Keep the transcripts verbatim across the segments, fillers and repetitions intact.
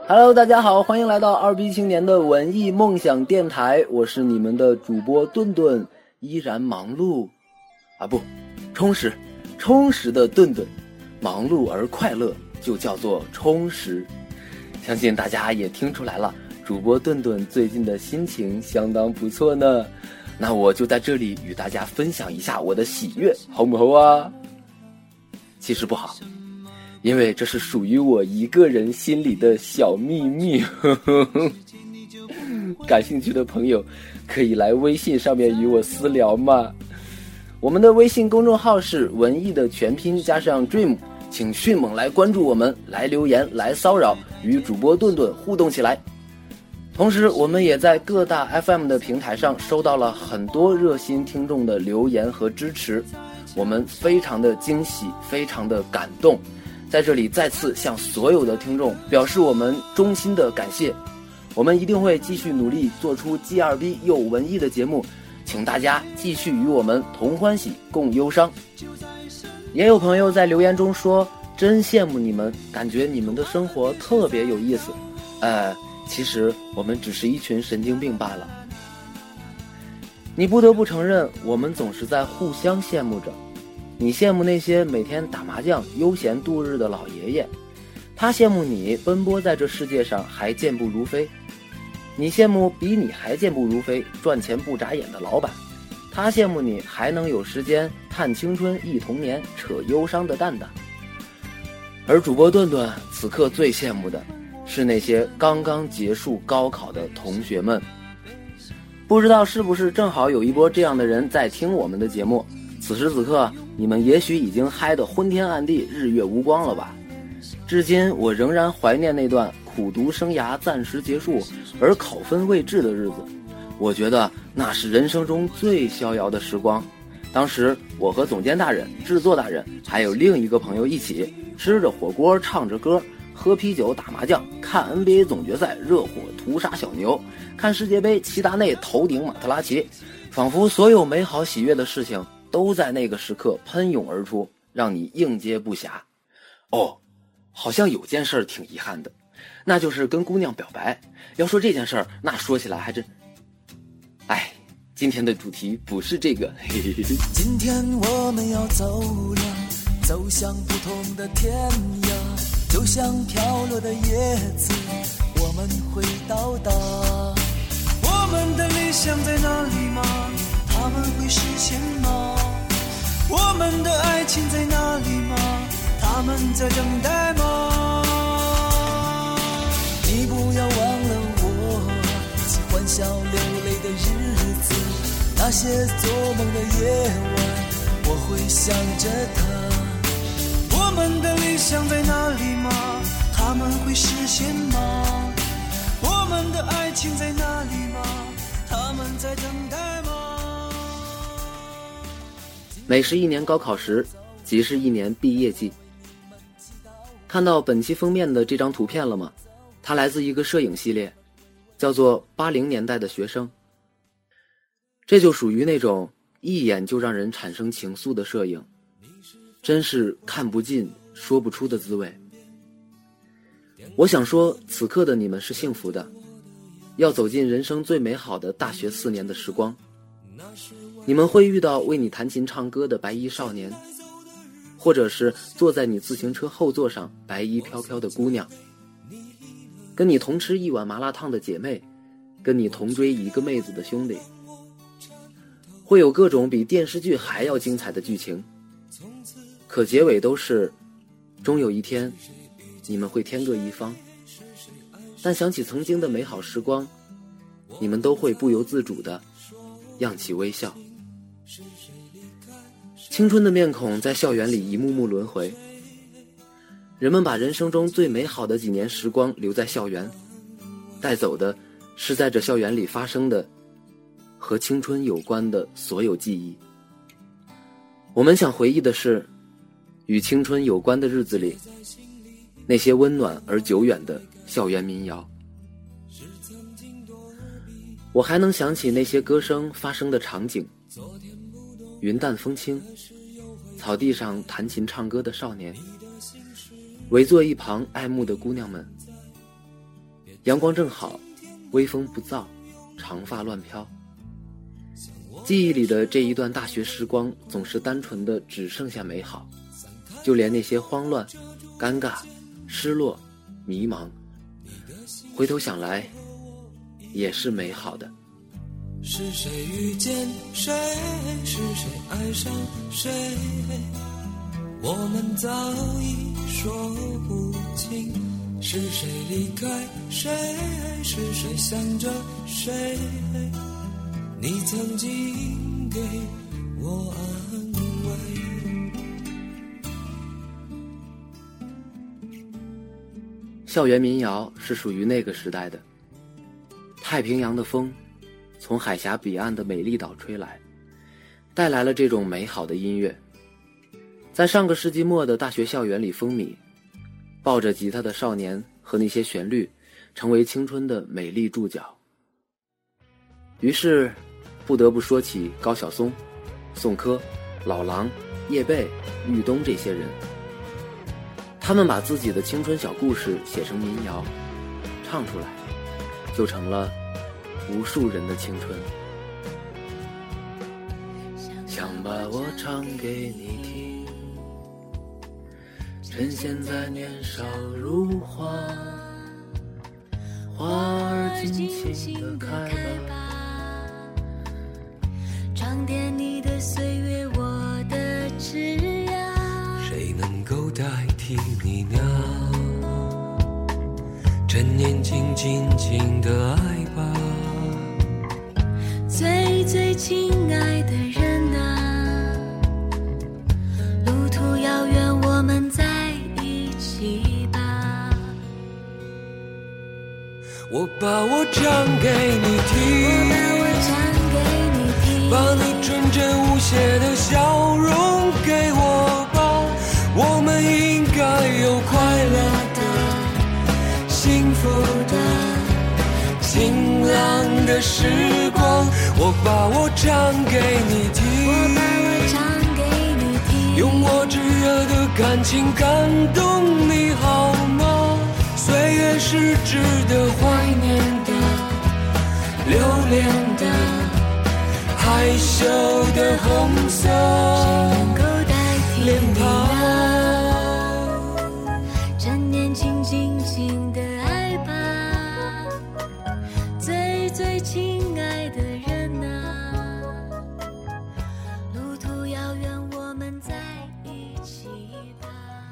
Hello， 大家好，欢迎来到二逼青年的文艺梦想电台，我是你们的主播顿顿，依然忙碌啊不，充实，充实的顿顿，忙碌而快乐就叫做充实。相信大家也听出来了，主播顿顿最近的心情相当不错呢。那我就在这里与大家分享一下我的喜悦，好不好啊？其实不好，因为这是属于我一个人心里的小秘密。感兴趣的朋友可以来微信上面与我私聊嘛。我们的微信公众号是文艺的全拼加上 dream， 请迅猛来关注我们，来留言，来骚扰，与主播顿顿互动起来。同时我们也在各大 F M 的平台上收到了很多热心听众的留言和支持，我们非常的惊喜，非常的感动，在这里再次向所有的听众表示我们衷心的感谢。我们一定会继续努力做出 G 二 B 又文艺的节目，请大家继续与我们同欢喜共忧伤。也有朋友在留言中说，真羡慕你们，感觉你们的生活特别有意思。呃其实我们只是一群神经病罢了。你不得不承认，我们总是在互相羡慕着。你羡慕那些每天打麻将悠闲度日的老爷爷，他羡慕你奔波在这世界上还健步如飞。你羡慕比你还健步如飞赚钱不眨眼的老板，他羡慕你还能有时间探青春忆童年扯忧伤的蛋蛋。而主播顿顿此刻最羡慕的是那些刚刚结束高考的同学们。不知道是不是正好有一波这样的人在听我们的节目，此时此刻你们也许已经嗨得昏天暗地日月无光了吧。至今我仍然怀念那段苦读生涯暂时结束而考分未至的日子，我觉得那是人生中最逍遥的时光。当时我和总监大人、制作大人还有另一个朋友一起吃着火锅唱着歌，喝啤酒打麻将，看 N B A 总决赛热火屠杀小牛，看世界杯齐达内头顶马特拉齐，仿佛所有美好喜悦的事情都在那个时刻喷涌而出，让你应接不暇。哦，好像有件事挺遗憾的，那就是跟姑娘表白。要说这件事儿，那说起来还真……哎，今天的主题不是这个。嘿嘿嘿嘿。 今天我们要走了，走向不同的天涯，就像飘落的叶子，我们会到达。我们的理想在哪里吗？他们会实现吗？我们的爱情在哪里吗？他们在等待吗？你不要忘了我，一起欢笑流泪的日子，那些做梦的夜晚，我会想着他。我们的理想在哪里吗？他们会实现吗？我们的爱情在哪里吗？他们在等待吗？ 每是一年高考时，即是一年毕业季。看到本期封面的这张图片了吗？它来自一个摄影系列，叫做八零年代的学生。这就属于那种一眼就让人产生情愫的摄影，真是看不尽说不出的滋味。我想说，此刻的你们是幸福的，要走进人生最美好的大学四年的时光。你们会遇到为你弹琴唱歌的白衣少年，或者是坐在你自行车后座上白衣飘飘的姑娘，跟你同吃一碗麻辣烫的姐妹，跟你同追一个妹子的兄弟。会有各种比电视剧还要精彩的剧情，可结尾都是终有一天你们会天各一方。但想起曾经的美好时光，你们都会不由自主地漾起微笑。青春的面孔在校园里一幕幕轮回，人们把人生中最美好的几年时光留在校园，带走的是在这校园里发生的和青春有关的所有记忆。我们想回忆的是与青春有关的日子里那些温暖而久远的校园民谣。我还能想起那些歌声发生的场景，云淡风轻，草地上弹琴唱歌的少年，围坐一旁爱慕的姑娘们， 阳光正好，微风不燥，长发乱飘。记忆里的这一段大学时光总是单纯的只剩下美好，就连那些慌乱、尴尬、失落、迷茫，回头想来也是美好的。 是谁遇见谁，是谁爱上谁，我们早已说不清。是谁离开谁，是谁想着谁，你曾经给我安慰。 校园民谣是属于那个时代的。太平洋的风从海峡彼岸的美丽岛吹来，带来了这种美好的音乐。在上个世纪末的大学校园里风靡，抱着吉他的少年和那些旋律成为青春的美丽注脚。于是不得不说起高晓松、宋柯、老狼、叶蓓、玉东这些人。他们把自己的青春小故事写成民谣，唱出来，就成了无数人的青春。想把我唱给你听，趁现在年少如花，花儿尽情地开吧， 装点你的岁月，我的枝桠。 谁能够代替你呢？趁年轻尽情的爱吧， 最最亲爱的人啊，路途遥远，我们在一起吧。 我把我唱给你听， 我把我唱给你听， 把你纯真无邪的笑容给我吧，我们应该有快乐的、幸福的、晴朗的时光。我把我唱给你听， 我把我唱给你听， 用我炙热的感情感动你好吗？岁月是值得怀念的、留恋的、害羞的红色谁能够代替脸你庞。 呢？趁年轻尽情的爱吧，最最亲爱的人啊，路途遥远，我们在一起吧。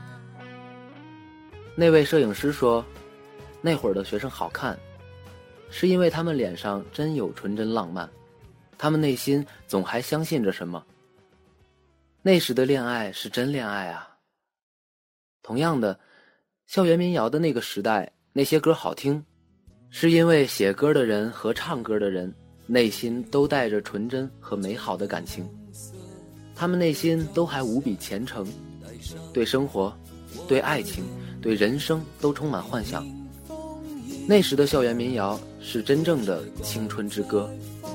那位摄影师说，那会儿的学生好看，是因为他们脸上真有纯真浪漫，他们内心总还相信着什么。那时的恋爱是真恋爱啊。同样的，校园民谣的那个时代，那些歌好听，是因为写歌的人和唱歌的人内心都带着纯真和美好的感情，他们内心都还无比虔诚，对生活、对爱情、对人生都充满幻想。那时的校园民谣是真正的青春之歌。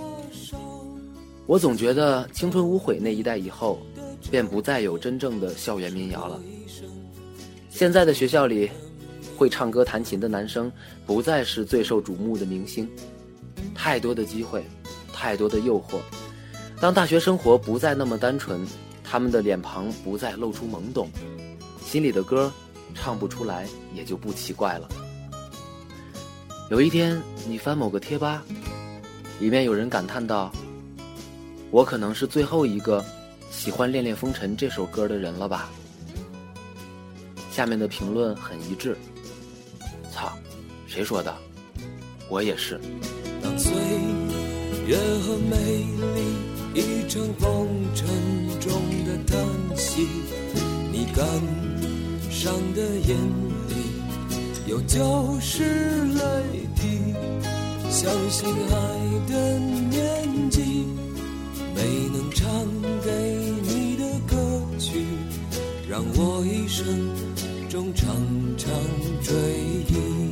我总觉得青春无悔那一代以后，便不再有真正的校园民谣了。现在的学校里，会唱歌弹琴的男生不再是最受瞩目的明星，太多的机会，太多的诱惑。当大学生活不再那么单纯，他们的脸庞不再露出懵懂，心里的歌唱不出来也就不奇怪了。有一天你翻某个贴吧，里面有人感叹道，我可能是最后一个喜欢《恋恋风尘》这首歌的人了吧。下面的评论很一致，操，谁说的？我也是。 当岁月和美丽一场风尘中的叹息，你感伤的眼里有旧时泪滴，相信爱的年纪，没能唱给你的歌曲，让我一生中常常追忆。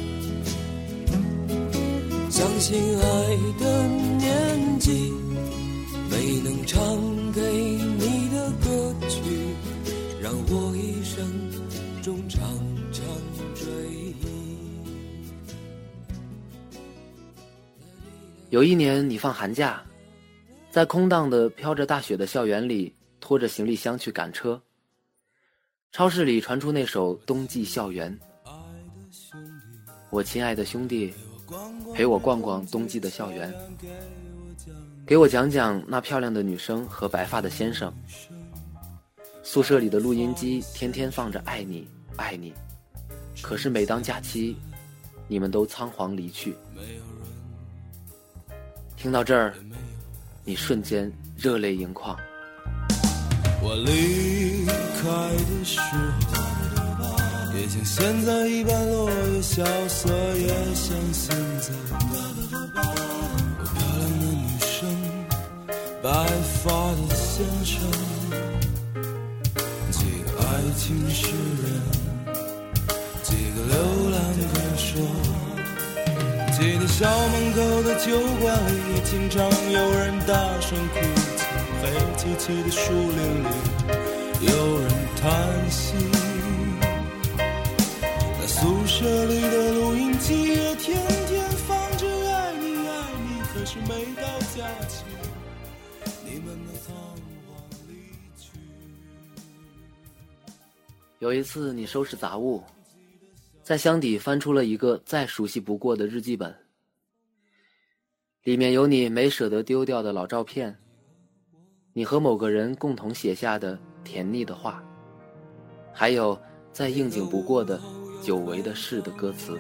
相信爱的年纪，没能唱给你的歌曲，让我一生中常常追忆。 有一年你放寒假，在空荡的飘着大雪的校园里，拖着行李箱去赶车。超市里传出那首《冬季校园》，我亲爱的兄弟，陪我逛逛冬季的校园，给我讲讲那漂亮的女生和白发的先生。宿舍里的录音机天天放着爱你爱你，可是每当假期，你们都仓皇离去。听到这儿，你瞬间热泪盈眶。 我离开的时候，也像现在一般落叶萧瑟，也像现在。有漂亮的女生，白发的先生，几个爱情诗人，几个流浪歌手。记得校门口的酒馆里，经常有人大声哭泣，黑漆漆的树林里有人叹息。那宿舍里的录音机也天天放着爱你爱你，可是每到假期，你们都仓皇离去。 有一次你收拾杂物，在箱底翻出了一个再熟悉不过的日记本，里面有你没舍得丢掉的老照片，你和某个人共同写下的甜腻的话，还有再应景不过的久违的事的歌词。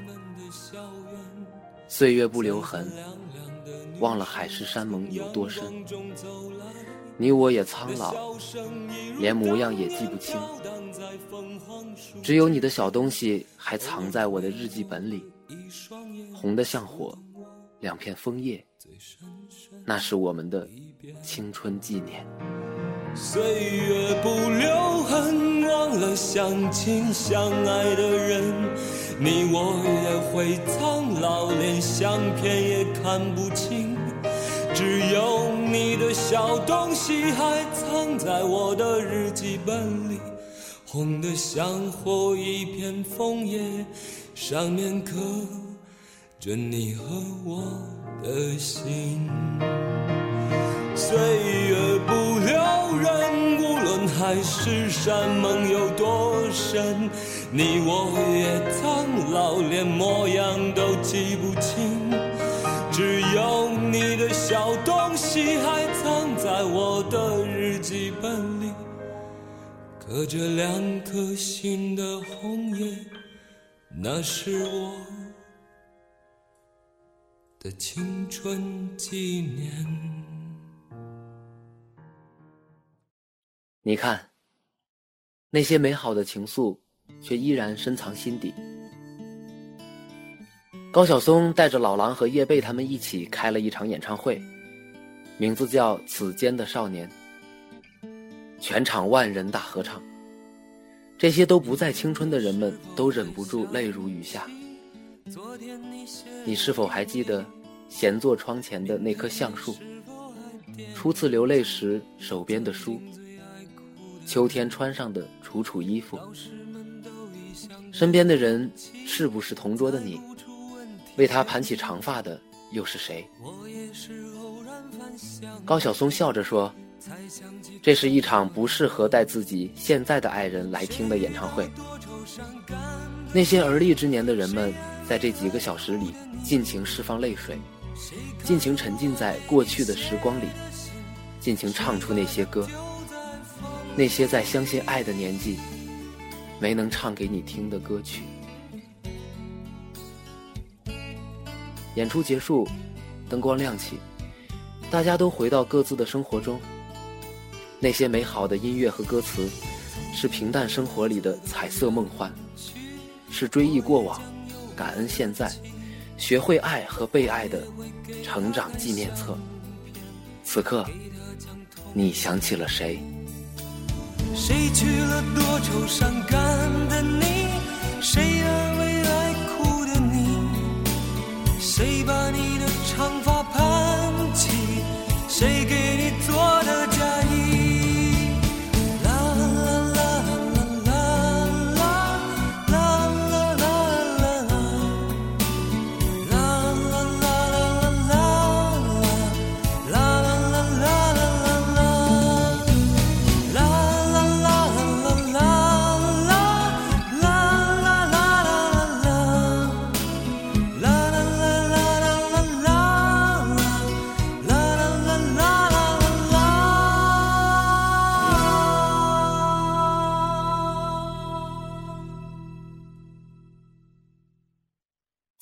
岁月不留痕，忘了海誓山盟有多深，你我也苍老，连模样也记不清，只有你的小东西还藏在我的日记本里，红得像火，两片枫叶，那是我们的青春纪念。 岁月不留痕，忘了相亲相爱的人，你我也会苍老，连相片也看不清，只有你的小东西还藏在我的日记本里，红得像火一片枫叶，上面刻着你和我的心。岁月不留人，无论海誓山盟有多深，你我也苍老，连模样都记不清，只有你的小东西还藏在我的日记本里，刻着两颗心的红叶，那是我的青春纪念。 你看，那些美好的情愫却依然深藏心底。高晓松带着老狼和叶蓓他们一起开了一场演唱会，名字叫《此间的少年》，全场万人大合唱。这些都不再青春的人们都忍不住泪如雨下。你是否还记得闲坐窗前的那棵橡树，初次流泪时手边的书，秋天穿上的楚楚衣服，身边的人是不是同桌的你？为他盘起长发的又是谁？高晓松笑着说，这是一场不适合带自己现在的爱人来听的演唱会。那些而立之年的人们在这几个小时里尽情释放泪水，尽情沉浸在过去的时光里，尽情唱出那些歌，那些在相信爱的年纪没能唱给你听的歌曲。演出结束，灯光亮起，大家都回到各自的生活中。那些美好的音乐和歌词，是平淡生活里的彩色梦幻，是追忆过往，感恩现在，学会爱和被爱的成长纪念册。此刻，你想起了谁？ 谁去了多愁善感的你？谁安慰爱哭的你？谁把你的长发盘起？谁给你做的嫁衣？啦啦啦啦啦啦啦啦啦啦啦啦啦啦啦啦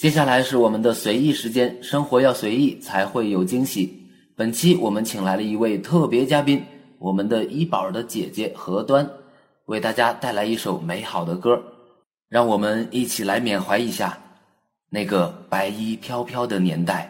接下来是我们的随意时间，生活要随意才会有惊喜。本期我们请来了一位特别嘉宾，我们的医宝的姐姐何端，为大家带来一首美好的歌，让我们一起来缅怀一下那个白衣飘飘的年代。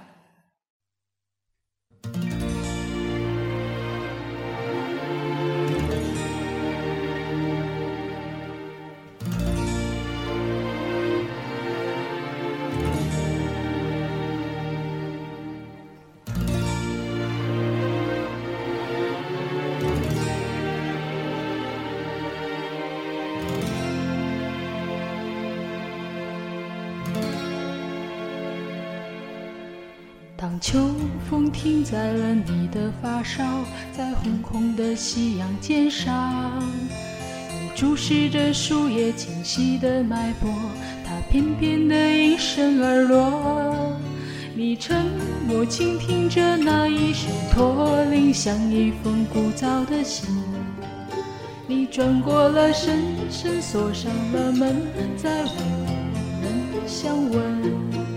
当秋风停在了你的发梢，在红红的夕阳肩上，你注视着树叶清晰的脉搏，它翩翩地应声而落。你沉默倾听着那一声驼铃，像一封枯燥的信。你转过了身，深锁上了门，再无人相问。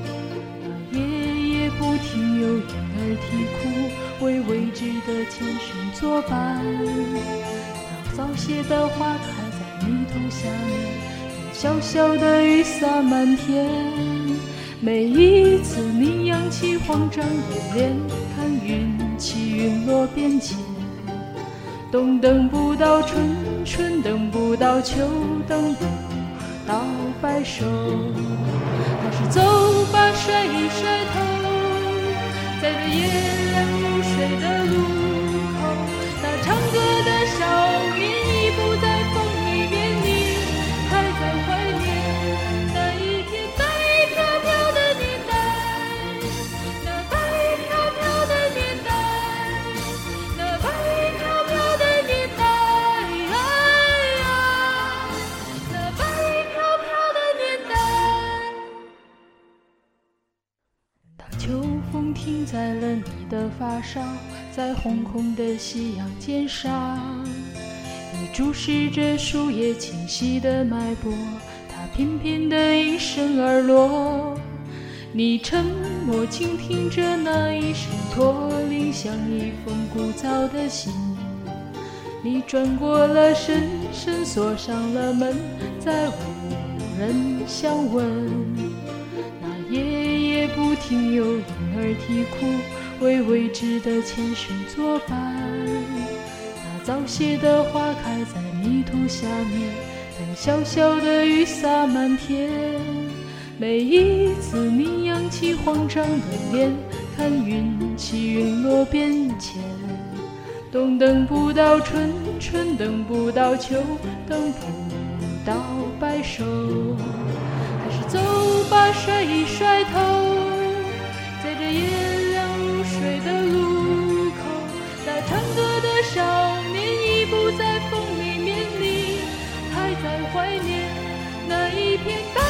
不停有婴儿啼哭，为未知的前生作伴。当早谢的花开在泥土下面，小小的雨洒满天。每一次你扬起慌张的脸，看云起云落变迁。冬等不到春，春等不到秋，等不到白首。还是走吧，甩一甩头，在这夜凉如水的路口，那唱歌的少年已不在风里面，你还在怀念那一片白飘飘的年代，那白飘飘的年代，那白飘飘的年代，哎呀，那白飘飘的年代。当秋风停在了你的发梢，在红红的夕阳肩上，你注视着树叶清晰的脉搏，它翩翩地应声而落。你沉默倾听着那一声驼铃，像一封枯燥的信。你转过了身，深锁上了门，再无人相问。那夜夜不停有婴儿啼哭，为未知的前生作伴。那早谢的花开在泥土下面，等小小的雨洒满天。每一次你扬起慌张的脸，看云起云落变迁。冬等不到春，春等不到秋，等不到白首。还是走吧，甩一甩头，在这夜凉如水的路口，那唱歌的少年已不在风里面，你还在怀念那一片大